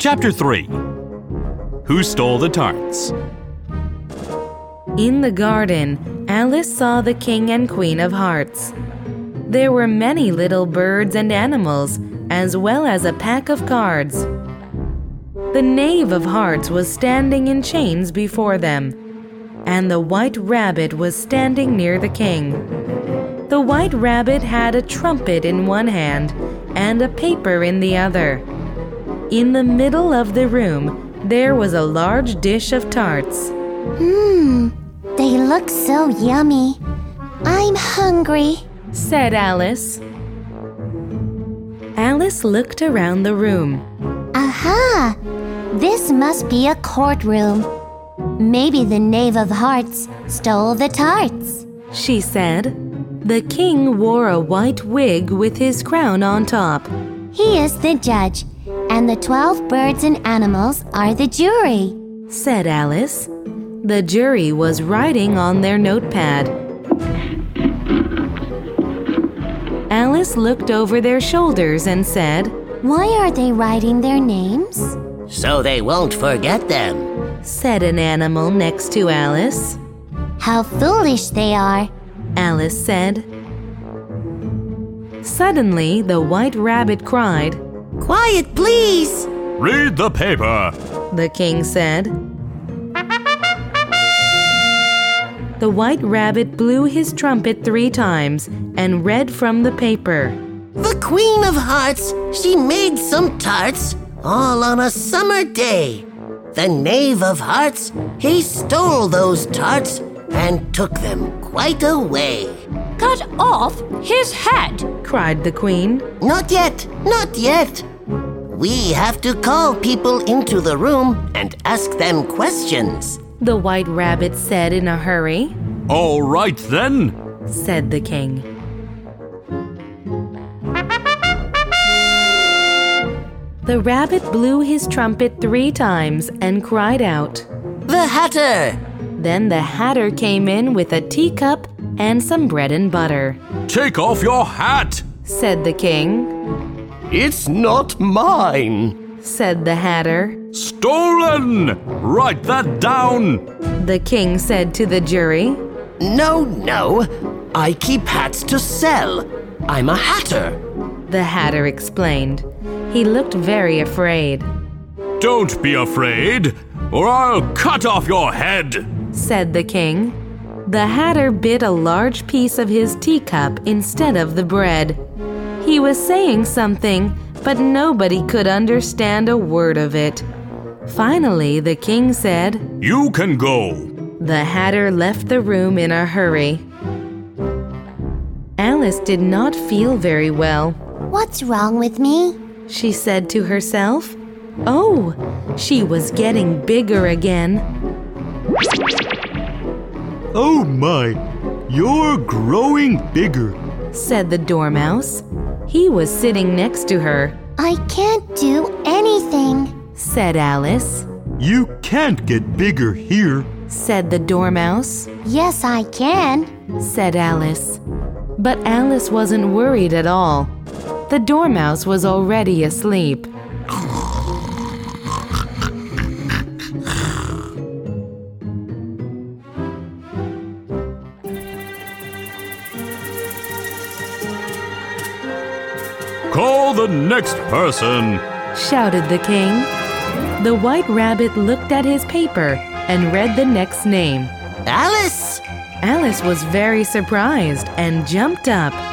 Chapter 3. Who Stole the Tarts? In the garden, Alice saw the King and Queen of Hearts. There were many little birds and animals, as well as a pack of cards. The Knave of Hearts was standing in chains before them, and the White Rabbit was standing near the king. The White Rabbit had a trumpet in one hand and a paper in the other. In the middle of the room, there was a large dish of tarts. They look so yummy. I'm hungry, said Alice. Alice looked around the room. Aha! This must be a courtroom. Maybe the Knave of Hearts stole the tarts, she said. The king wore a white wig with his crown on top. He is the judge, and the 12 birds and animals are the jury, said Alice. The jury was writing on their notepad. Alice looked over their shoulders and said, Why are they writing their names? So they won't forget them, said an animal next to Alice. How foolish they are, Alice said. Suddenly, the White Rabbit cried, Quiet, please! Read the paper, the king said. The White Rabbit blew his trumpet 3 times and read from the paper. The Queen of Hearts, she made some tarts, all on a summer day. The Knave of Hearts, he stole those tarts and took them quite away. Cut off his head, cried the queen. Not yet, not yet. We have to call people into the room and ask them questions, the White Rabbit said in a hurry. All right then, said the king. The rabbit blew his trumpet 3 times and cried out, The Hatter! Then the Hatter came in with a teacup and some bread and butter. Take off your hat, said the king. It's not mine, said the Hatter. Stolen! Write that down, the king said to the jury. No, I keep hats to sell. I'm a hatter, the Hatter explained. He looked very afraid. Don't be afraid, or I'll cut off your head, said the king. The Hatter bit a large piece of his teacup instead of the bread. He was saying something, but nobody could understand a word of it. Finally, the king said, You can go. The Hatter left the room in a hurry. Alice did not feel very well. What's wrong with me? She said to herself. Oh, she was getting bigger again. Oh my, you're growing bigger, said the Dormouse. He was sitting next to her. I can't do anything, said Alice. You can't get bigger here, said the Dormouse. Yes, I can, said Alice. But Alice wasn't worried at all. The Dormouse was already asleep. Call the next person, shouted the king. The White Rabbit looked at his paper and read the next name. Alice! Alice was very surprised and jumped up.